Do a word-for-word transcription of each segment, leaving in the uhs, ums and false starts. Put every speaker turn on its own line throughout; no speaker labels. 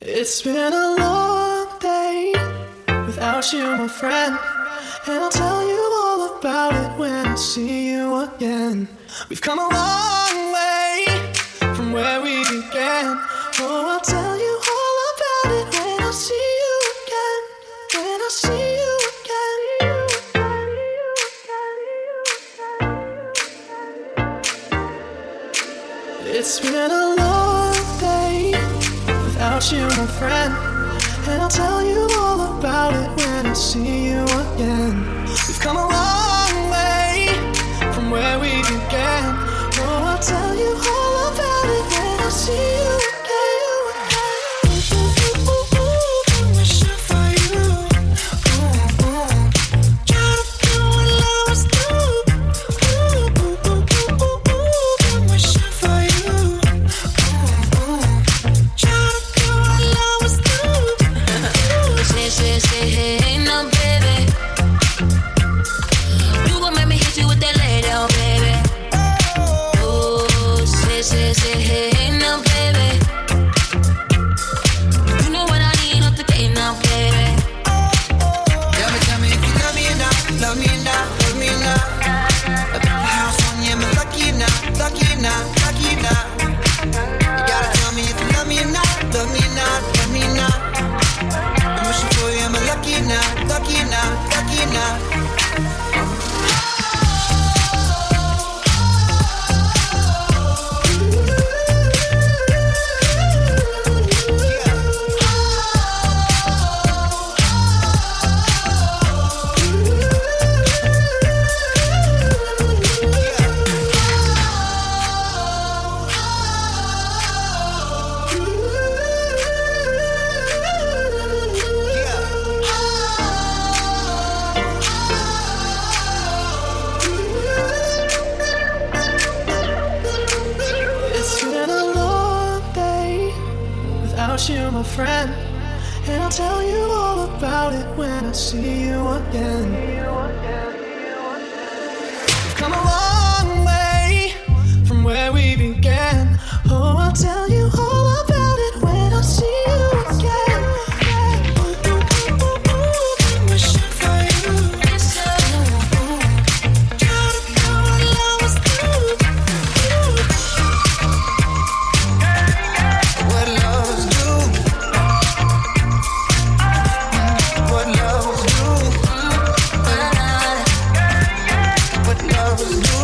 It's been a long day without you, my friend, and I'll tell you all about it when I see you again. We've come a long way from where we began. Oh, I'll tell you all about it when I see you again. When I see you again. It's been a long day without you, my friend, and I'll tell you all about it when I see you again. We've come a long way from where we began. Oh, I'll tell you all about it when I see you again. I'm wishing for you. Ooh, ooh. Try to do what lovers do. Ooh, ooh, ooh, ooh, ooh, ooh. I'm wishing for you. Ooh, ooh. Try to do what lovers do.
Say, say, say, hey, hey, no, baby. You gon' make me hit you with that lay down, baby. Oh, say, say, say, hey, hey, no, baby. You know what I need off the gate now, baby.
Tell me, tell me if you love me or not, love me or not, love me or not. I built a house on you, am I lucky or not, lucky or not, lucky or not? You gotta tell me if you love me or not, love me or not, love me or not. I'm wishing for you, am I lucky or not, lucky or not, lucky or not?
It's been a long day without you, my friend, and I'll tell you all about it when I see you again. We've come a long way from where we began. Oh, I'll tell you all about it when I see you again. Ooh, ooh, ooh, ooh, I'm wishing for you. Ooh, ooh. Try to do what lovers do. Ooh.
What lovers do, what lovers do, what lovers do.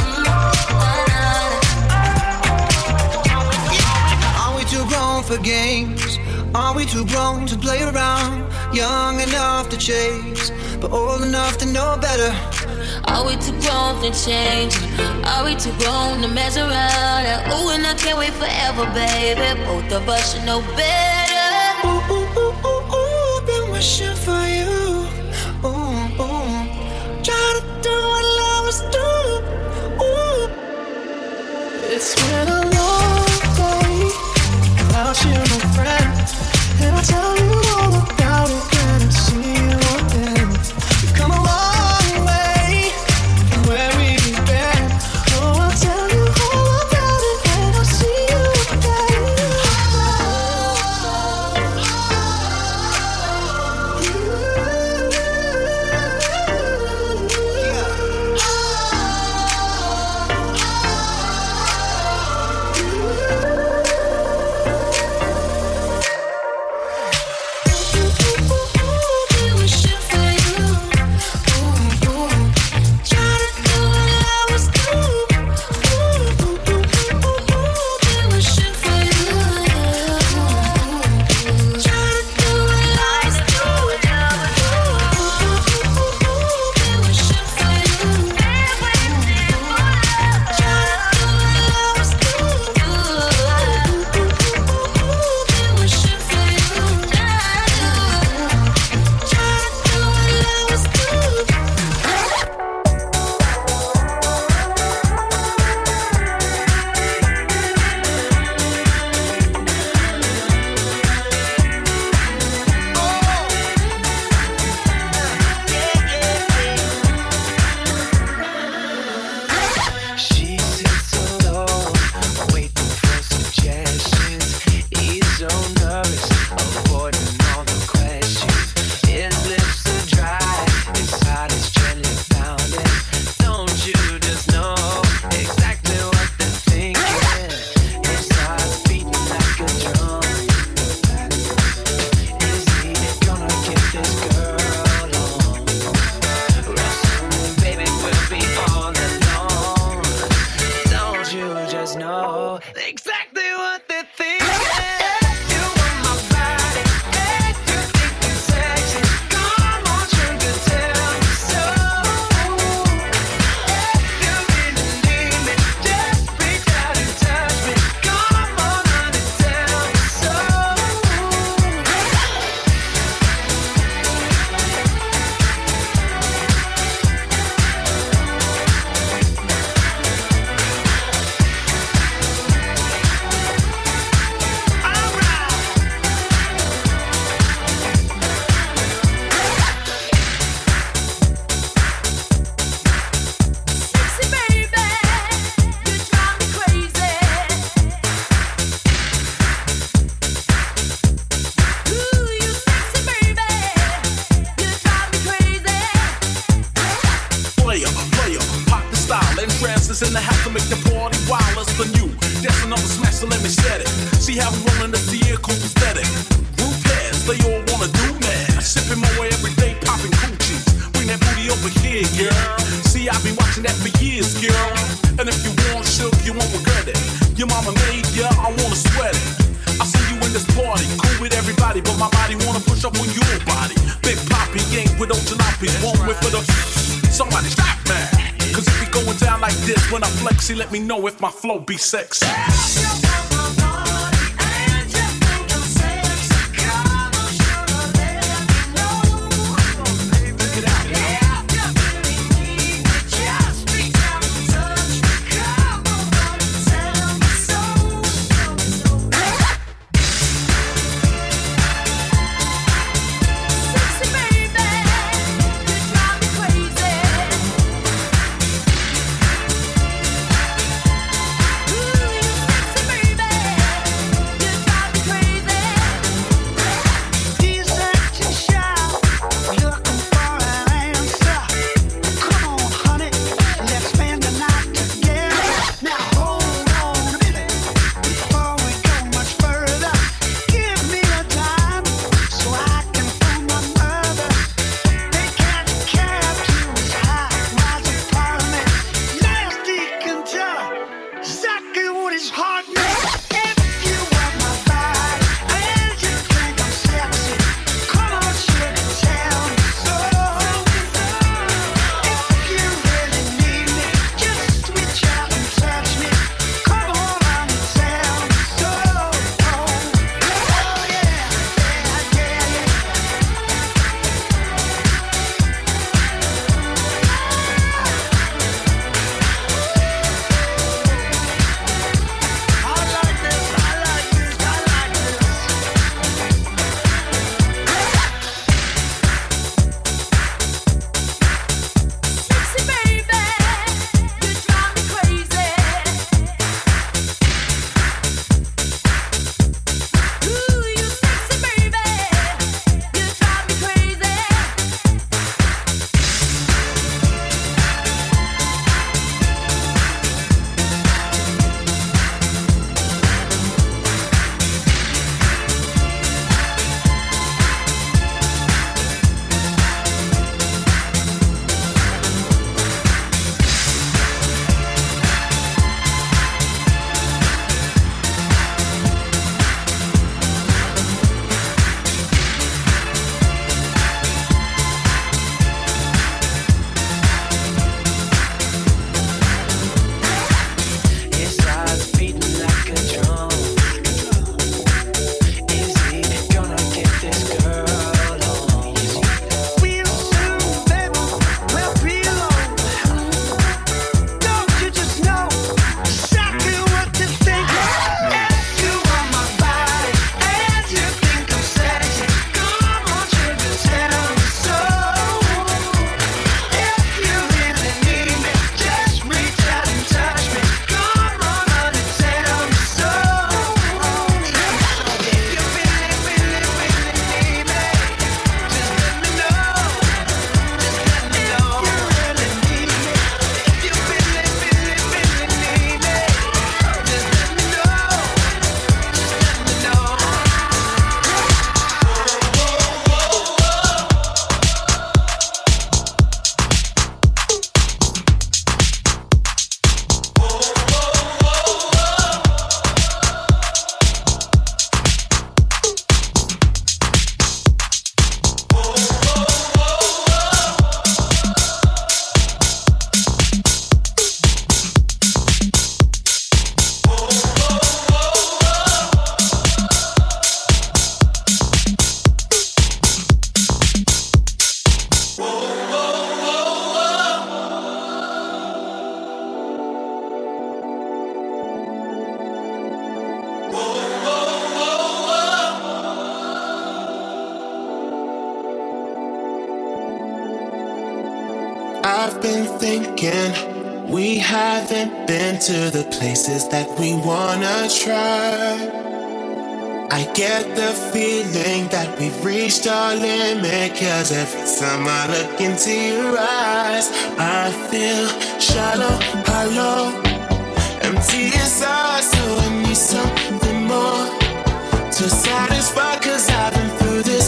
Are we too grown for games? Are we too grown to play around? Young enough to chase, but old enough to know better.
Are we too grown to change? Are we too grown to mess around? Ooh, and I can't wait forever, baby. Both of us should know better.
Ooh, ooh, ooh, ooh, ooh, been wishing for you. Ooh, ooh. Try to do what lovers do. Ooh. It's been a long day without you, my friend, and I'll tell you all about it when I see you again. We've come a long way from where we began. Oh, I'll tell you all about it when I see you again.
in the house to make the party wilder than you. That's another smash, so let me set it. See how we rollin' this year, cool aesthetic. Group heads, they all wanna do mad. Sipping my way every day, popping coochies. Bring that booty over here, girl. See, I've been watching that for years, girl. And if you want shook, you won't regret it. Your mama made ya, I wanna sweat it. I see you in this party, cool with everybody, but my body wanna push up on your body. Big Poppy ain't with old jalopies, one with for the. Somebody stop me. Cause if we going down like this, when I flex, see, let me know if my flow be sexy.
I've been thinking we haven't been to the places that we wanna try.
I get the feeling that we've reached our limit, cause every time I look into your eyes, I feel shallow, hollow, empty inside, so I need something more to satisfy, cause I've been through this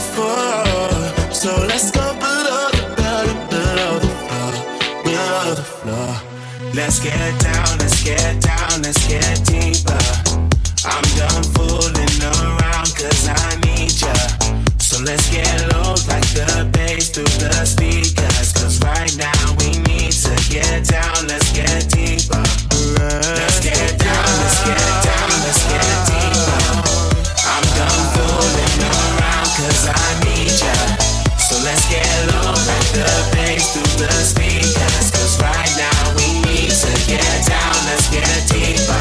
before. So let's go below the belt, below the floor, below the floor. Let's get down, let's get down, let's get deeper. I'm done fooling around cause I need ya. So let's get low like the bass through the speakers, cause right now we need to get down, let's get deeper. Let's get down, let's get down, let's get deeper. I'm done fooling around cause I need ya. So let's get low like the bass through the speakers, cause right now we need to get down, let's get deeper.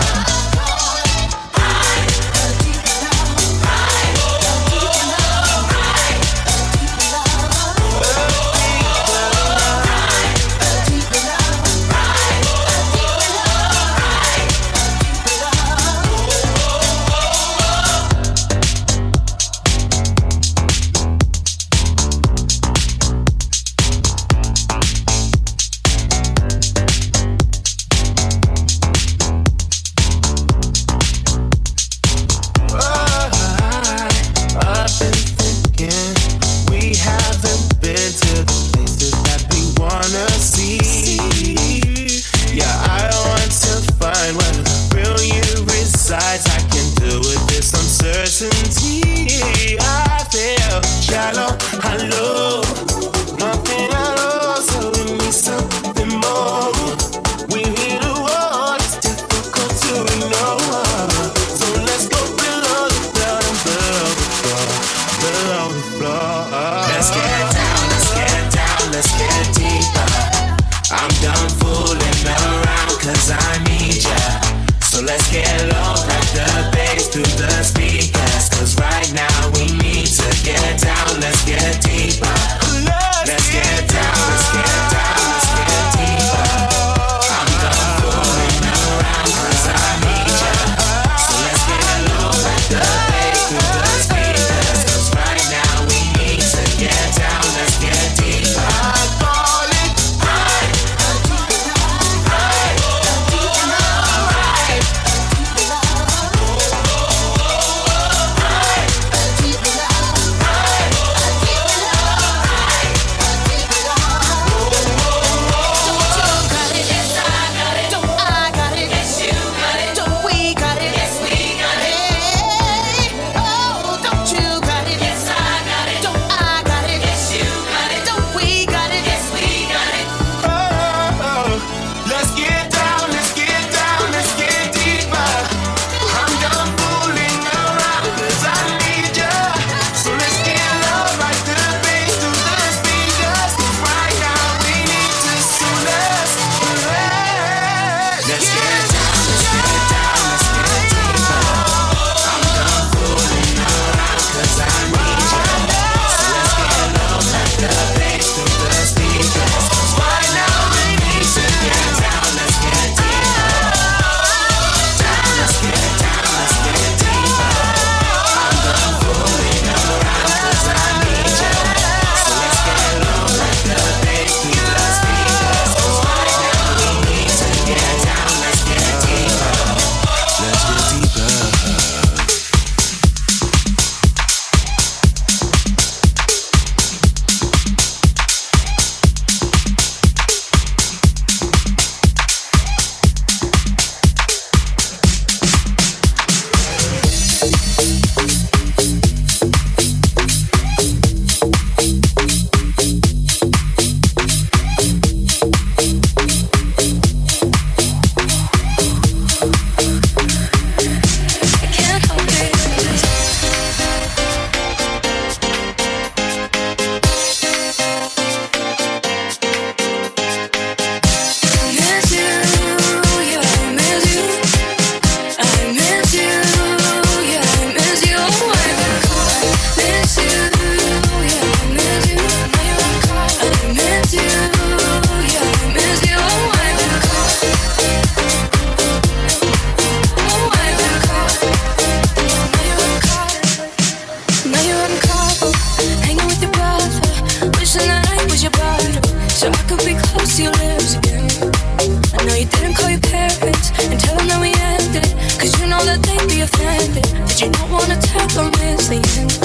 Let's
heck I'm missing.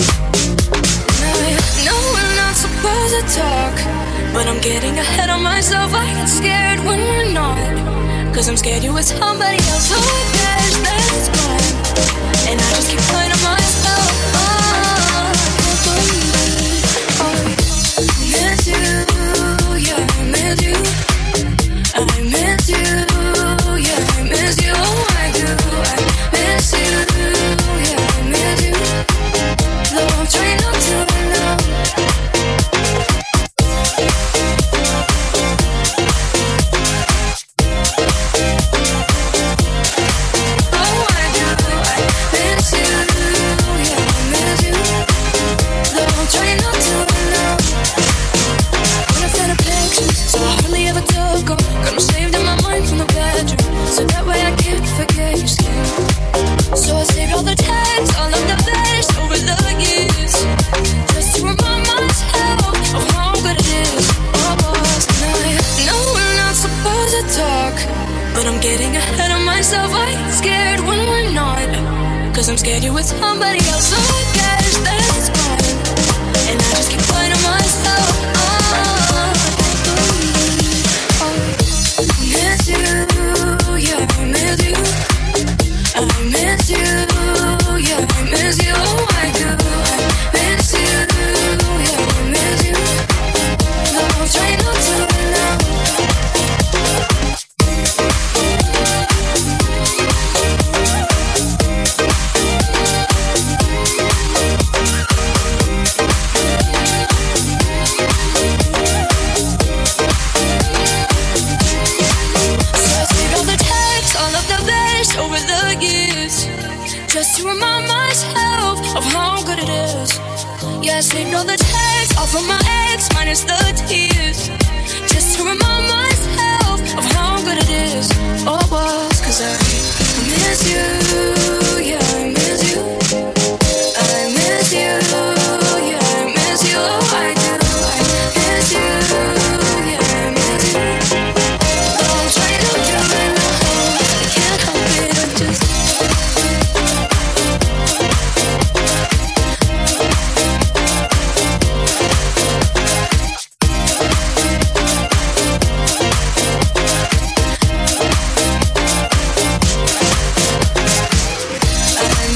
No, we're not supposed to talk, but I'm getting ahead of myself. I get scared when we're not, cause I'm scared you with somebody else. So I guess that it's gone, and I just keep playing to myself. Oh, I can't believe it. Oh, I miss you, yeah, I miss you. I miss you, yeah, I miss you. Oh, I do, I miss you, yeah, I miss you. Though I'm trying not to now. Cause I'm scared you're with somebody else. So I guess that it's fine, and I just keep playing to myself. Oh, oh, I miss you, yeah, I miss you. I miss you, yeah, I miss you. Oh, I do, I miss you, yeah, I miss you. Though I'm trying not to now. Just to remind myself of how good it is. Yeah, I saved all the texts, all from my ex, minus the tears. Just to remind myself of how good it is. Oh, it was, cause I miss you, yeah, I miss you. I miss you, yeah, I miss you. Oh, I do, I miss you, yeah, I miss you. Oh, I'm trying to do it now, I can't help it, I just I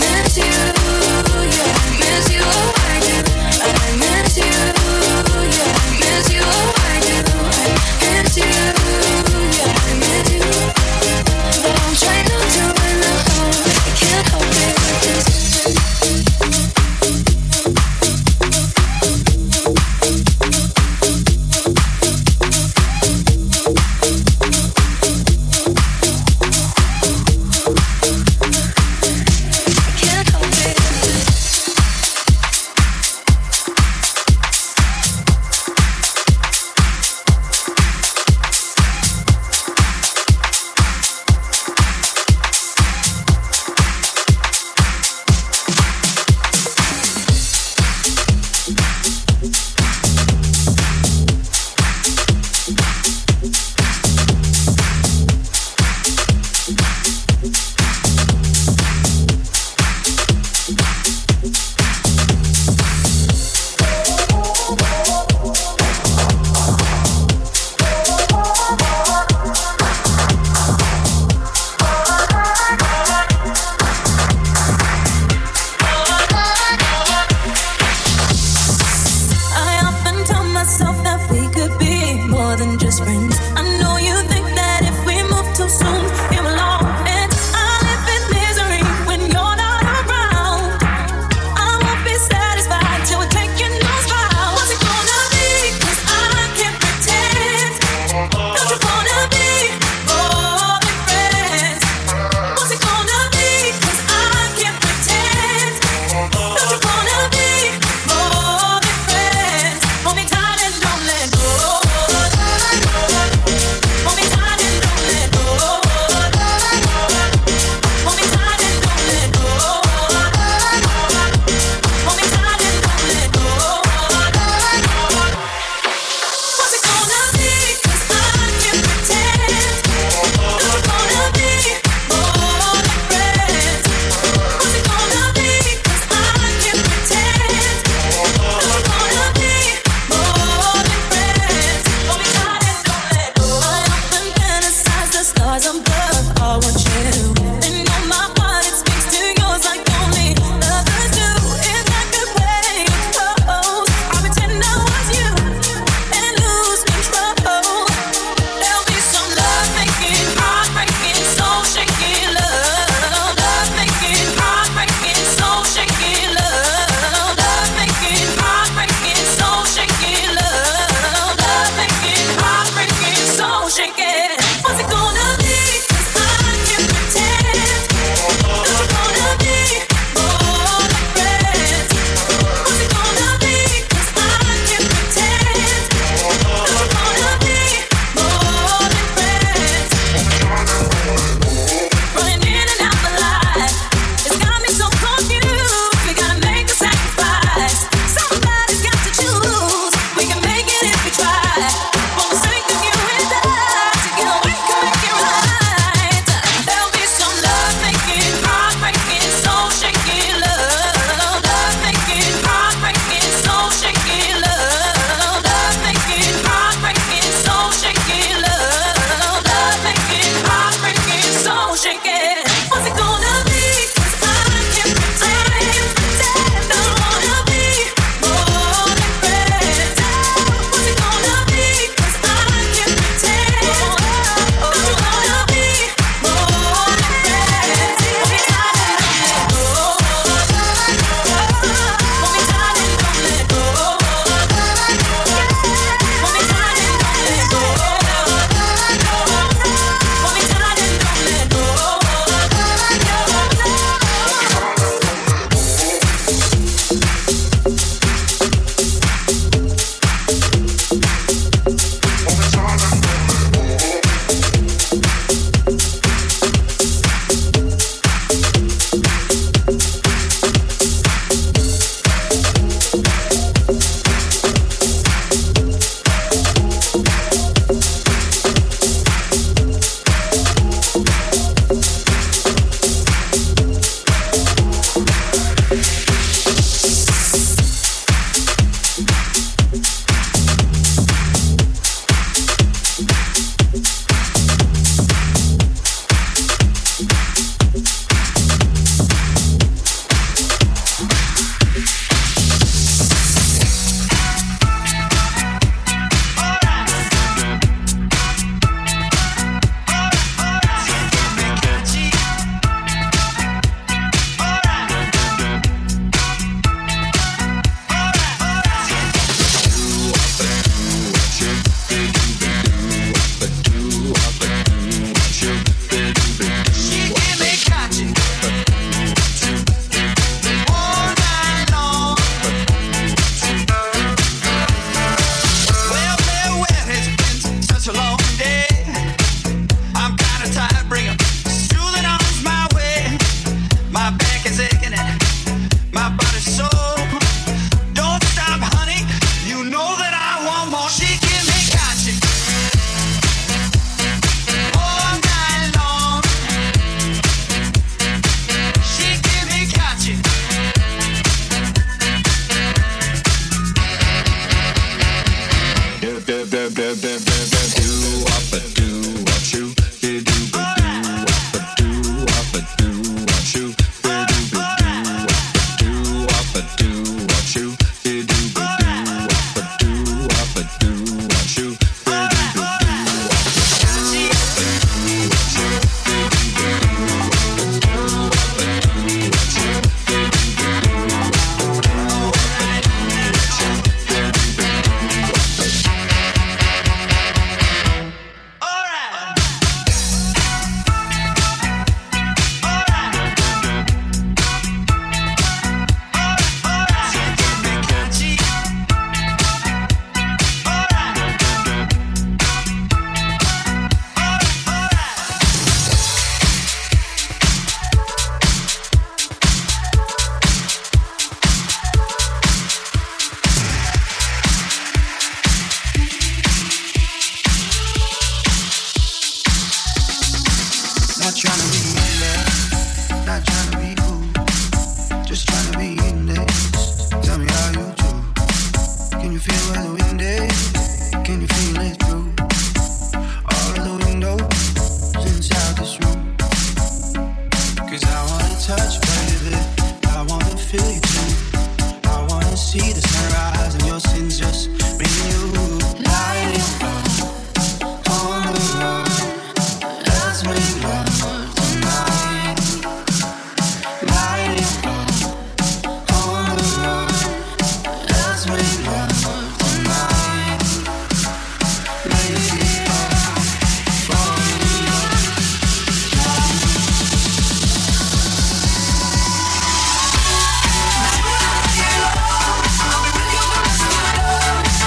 Tonight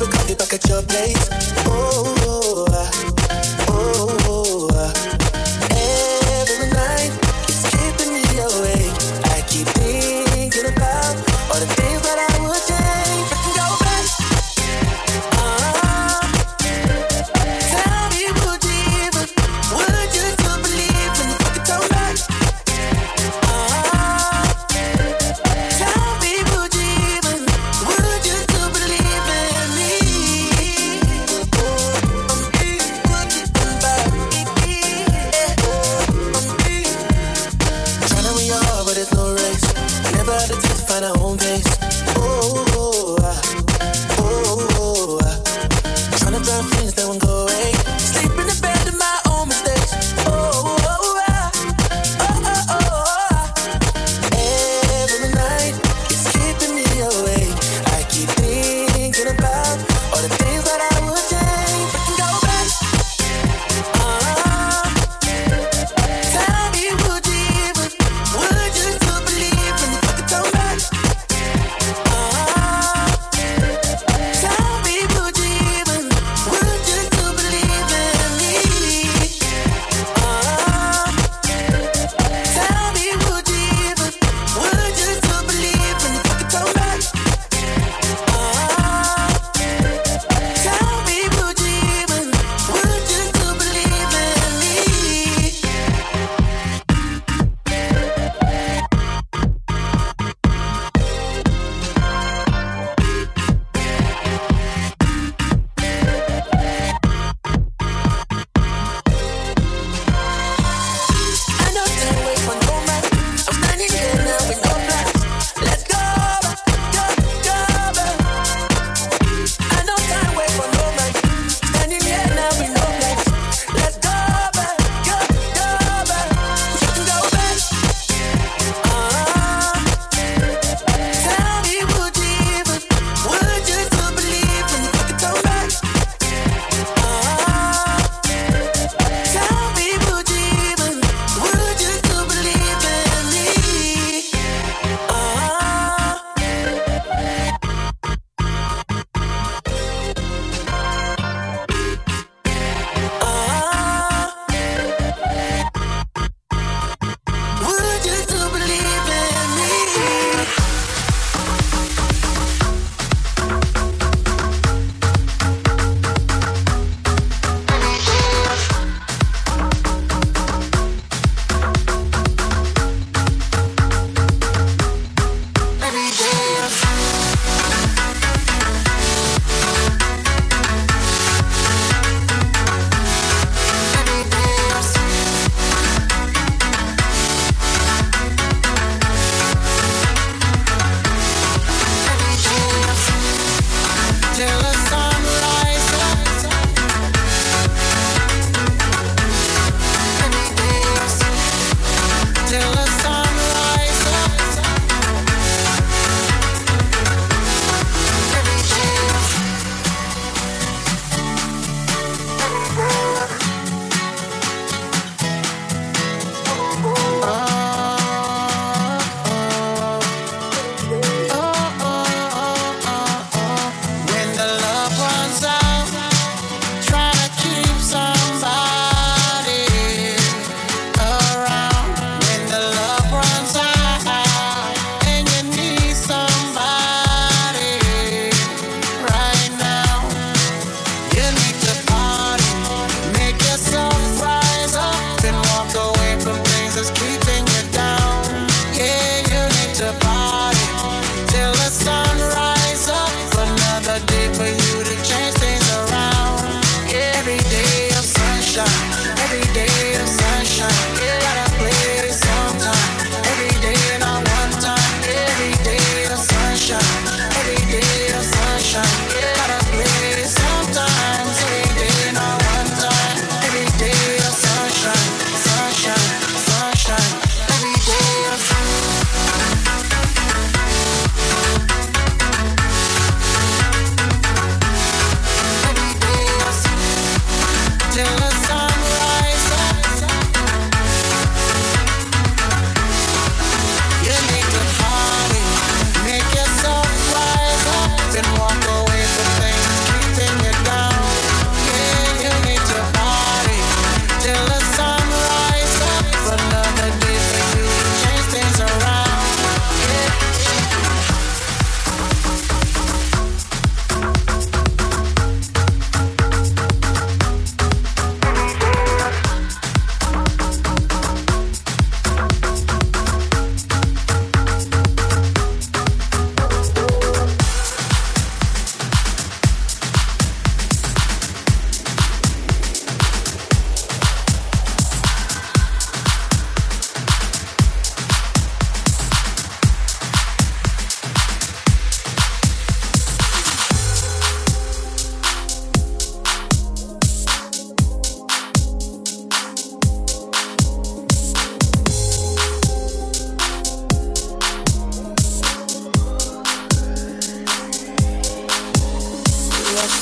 for coffee back at your place. Oh, oh, oh, oh, oh. Every night it's keeping me awake. I keep thinking about all the things that I would change. I can go back. Uh, tell me, would you even, would you still believe when you fucking told back? Uh, tell me, would you even, would you still believe in me? Oh,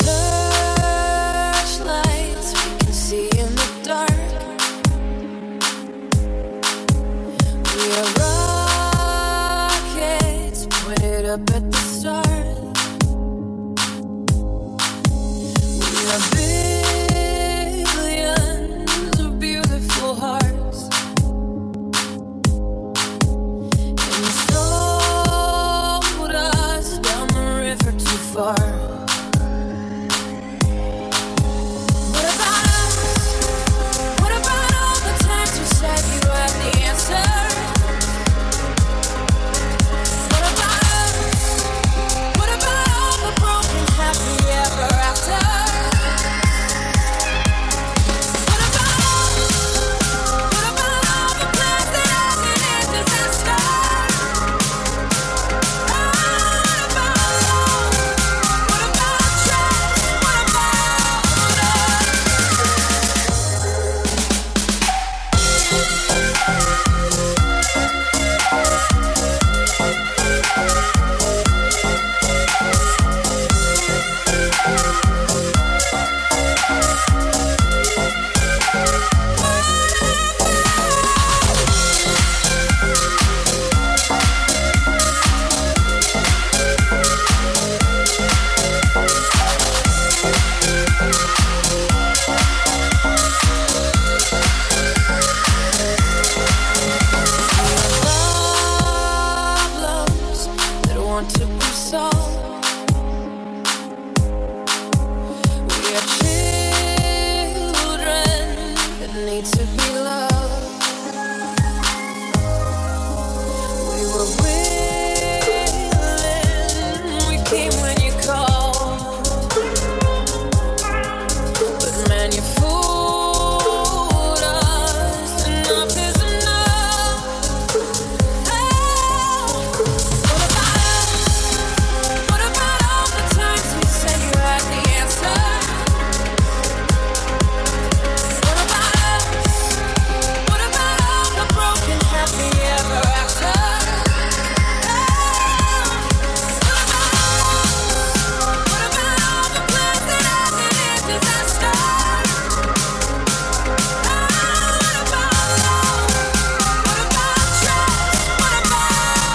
searchlights we can see in the dark. We are rockets pointed up at the stars. We are billions of beautiful hearts. And you sold us down the river too far. What about us? What about all the times you said you had the answer? What about us? What about all the broken happy ever after? What about us? What about all the plans that ended in disaster? Oh, what about love? What about trust? What about problems that want to be solved? We are children that need to be loved. We were willing, we came when you called. But man, you fooled us. Enough is enough. Oh, what about us? What about all the times we said you had the answer? What about us? What about all the broken happy ever after? Oh, what about us? What about all the plans that ended in disaster? Oh, what about love? What about trust? What about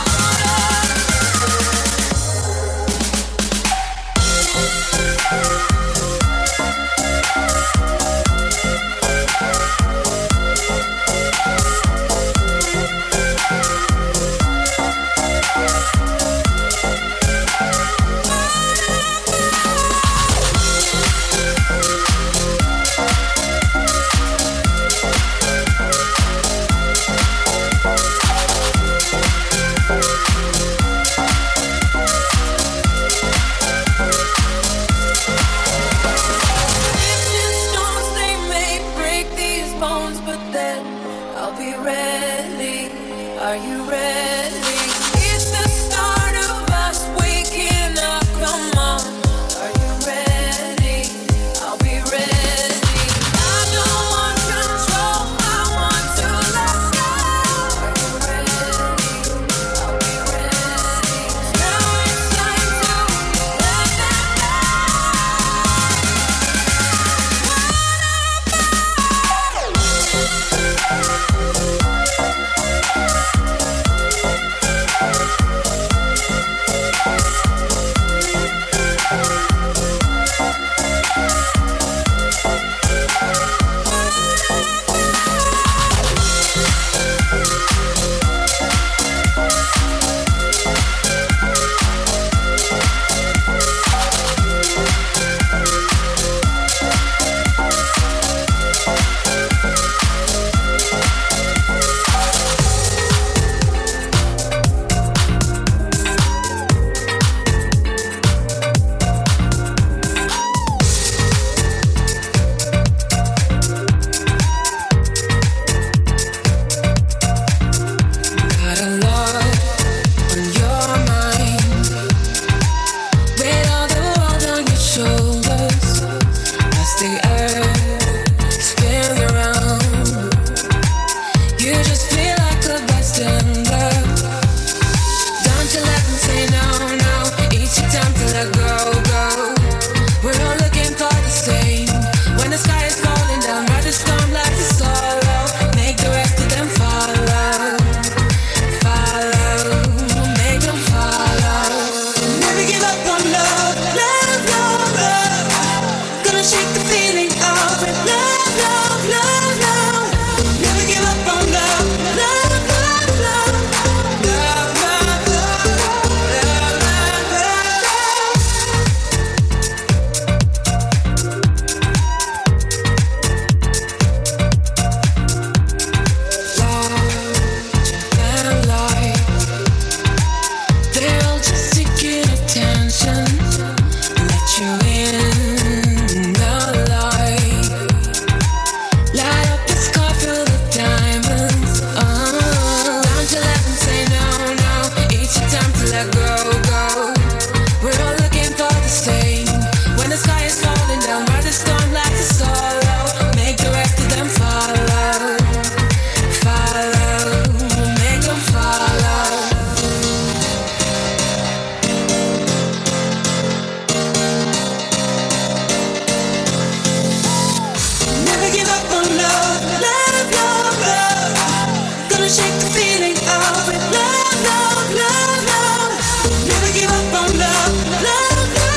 stones, they may break these bones, but then I'll be ready. Are you ready? It's the start of us waking up. Come on. Are you ready? I'll be ready. I don't want control. I want to let go. Are you ready? I'll be ready. Now it's time to let that go. What about down by the storm like a sorrow. Make the rest of them follow, follow, make them follow. Never give up on love, love, love, love. Gonna shake the feeling of it, love, love, love, love. Never give up on love, love.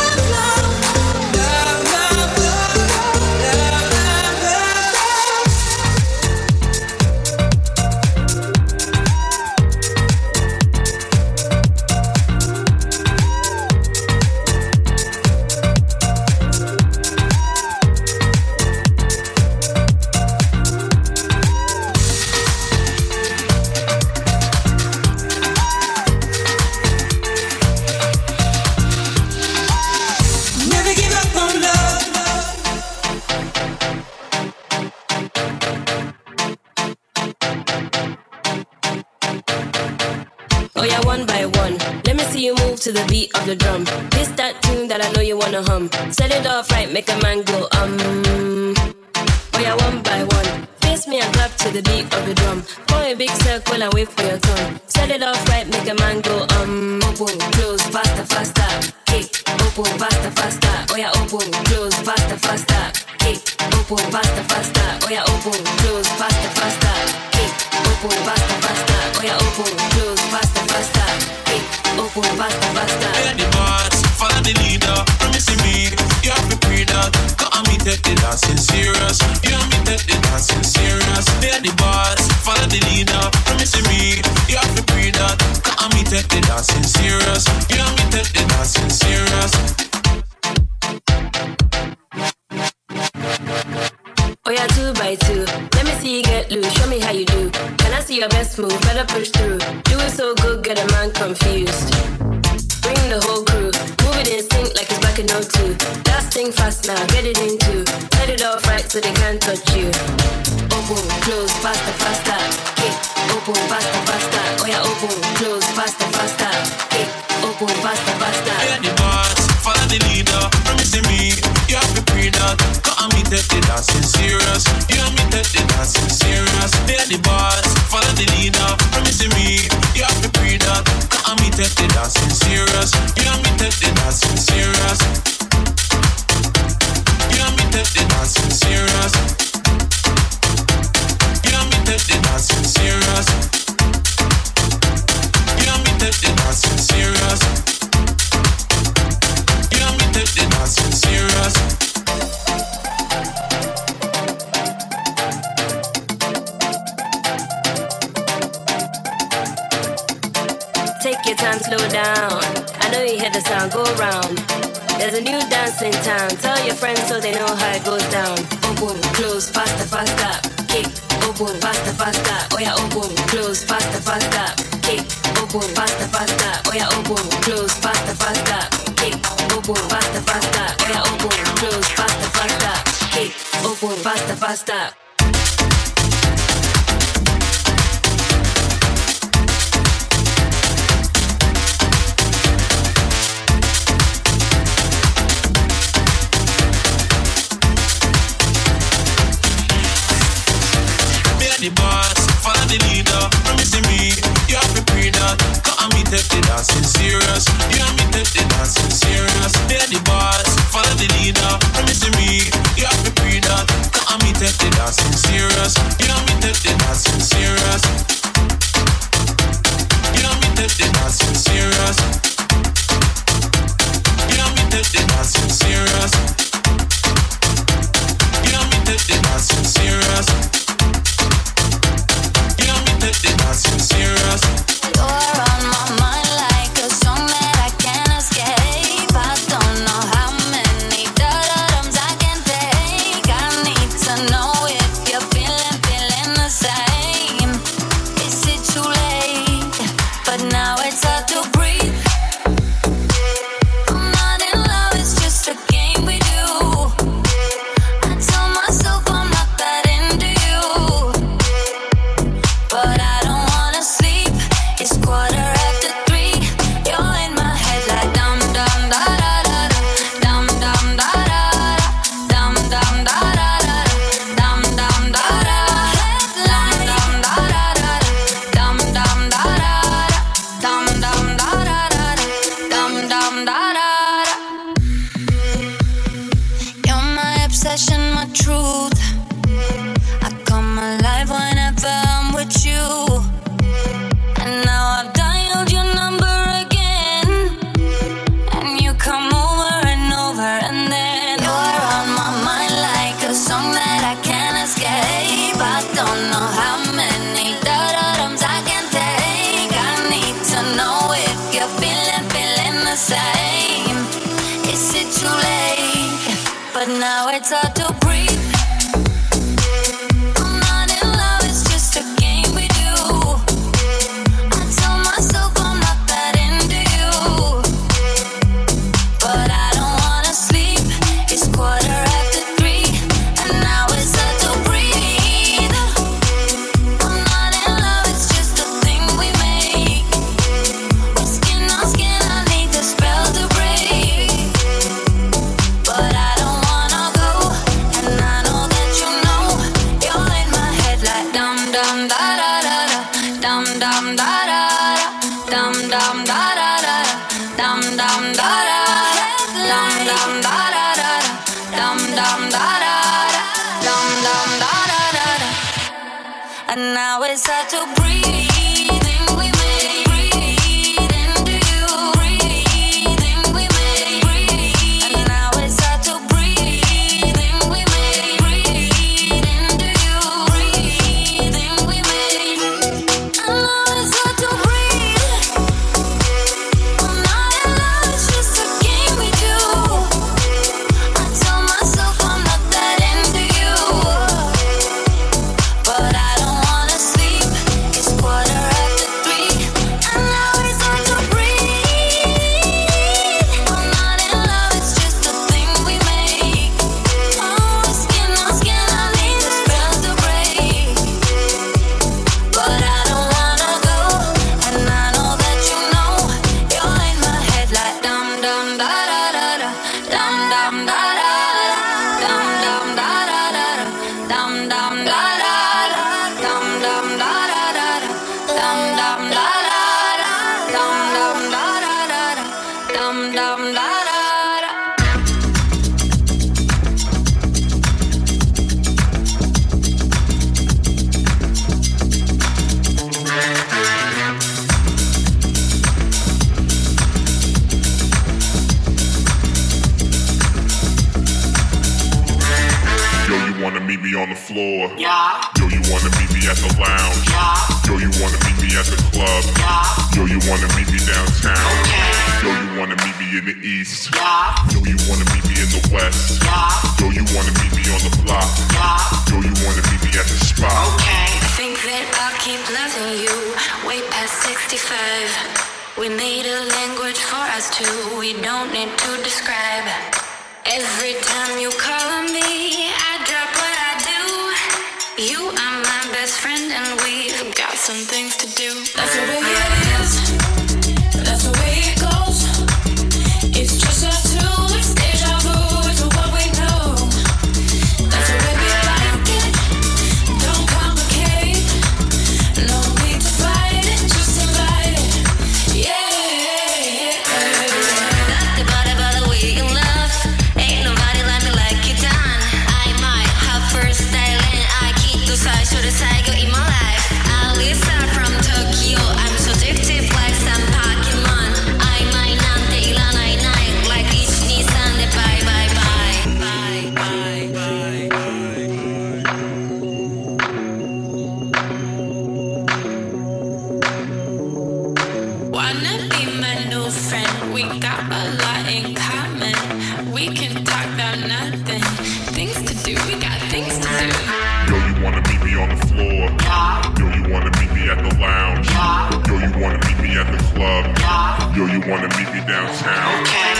To the beat of the drum. This that tune that I know you wanna hum. Set it off right, make a man go um. Oh yeah, one by one. Face me and clap to the beat of the drum. Form a big circle and wait for your turn. Set it off right, make a man go um. Open, close, faster, faster. Kick, open, faster, faster. Oh yeah, open, close, faster, faster. Kick, open, faster, faster. Oh yeah, open, close, faster, faster. Kick, open, faster, faster. Oh yeah, open, close, faster, faster. Kick, open, faster, faster.
Hear the boss, follow the leader. Promising me, you have to pray that. Cause me take the dancing serious. You have me take the dancing serious. Hear the boss, follow the leader. Promising me, you have to pray that. Cause me take the dancing serious. You have me take the dancing serious.
Oh yeah, two by two. Let me see you get loose. Show me how you do. Can I see your best move? Better push through. Do it so good, get a man confused. Bring the whole crew. Move it in sync like it's back in oh two. Last thing fast now, get it into. Set it off right so they can't touch you. Open, close, faster, faster. Kick, open, faster, faster. Oh yeah, open, close, faster, faster. Kick, open, faster, faster.
Hear the boss, follow the leader. Promising me, you have to pray that. Cause me take the dancing serious. You have me take the dancing serious. Hear the boss, follow the leader. Promising me, you have to pray that. Cause me take the dancing serious. You have me take the dancing serious. You have me take the dancing serious. You have me take the dancing serious. You have me take the dancing serious. You have me take the dancing serious.
Take your time, slow down. I know you hear the sound, go round. There's a new dance in town. Tell your friends so they know how it goes down. Open, close, faster, faster. Kick, open, faster, faster. Oh yeah, open, close, faster, faster. Kick, open, faster, faster. Oh yeah, open, close, faster, faster. Kick, open, faster, faster. Oh yeah, open, close, faster, faster. Kick, open, faster, faster.
The boss, follow the leader. Promising me, you have to pray that. Cause me take the dancing serious. You have me take the dancing serious. Hear the boss, follow the leader. Promising me, you have to pray that. Cause me take the dancing serious. You have me take the dancing serious. You have me take the dancing serious. You have me take the dancing serious. You have me take the dancing serious. Take the dancing serious.
You're on my mind like a song that I
obsession, my truth. I come alive whenever I'm with you. And now I've dialed your number again, and you come over and over, and then you're on my mind like a song that I can't escape. I don't know how many da-da-dums I can take. I need to know if you're feeling, feeling the same. Is it too late? But now it's hard to breathe. And now it's hard to breathe. We made breathe into you. Breathing we made breathe. And now it's hard to breathe. We made breathe into you. Breathing we made. And now it's hard to breathe. I'm not in love, it's just a game we do. I tell myself I'm not that into you, but I
on the floor. Yeah. Yo, you wanna meet me at the lounge. Yeah. Yo, you wanna meet me at the club. Yeah. Yo, you wanna meet me downtown. Okay. Yo, you wanna meet me in the east. Yeah. Yo, you wanna meet me in the west. Yeah. Yo, you wanna meet me on the block. Yeah. Yo, you wanna meet me at the spot.
Okay. I think that I'll keep loving you way past sixty-five. We made a language for us two. We don't need to describe. Every time you call on me, I drop what I do. You are my best friend and we've got some things to do. That's the way it is. That's the way it goes. It's just us two. It's deja vu to what we know. That's the way we like it. Don't complicate. No need to fight it. Just invite it. Yeah. Not the body, but the way you love. Ain't nobody like me like you done. I might have first style and I keep those eyes to the side in my life. Alisa from Tokyo, I'm so addictive like some Pokemon. I might not take la night night like each Nissan. Bye bye bye bye bye bye bye. Wanna be my new friend? We got a lot in common. We can talk about nothing. Things to do, we got things to do.
Yo, you wanna meet me on the floor. Yeah. Yo, you wanna meet me at the lounge. Yeah. Yo, you wanna meet me at the club. Yeah. Yo, you wanna meet me downtown. Okay.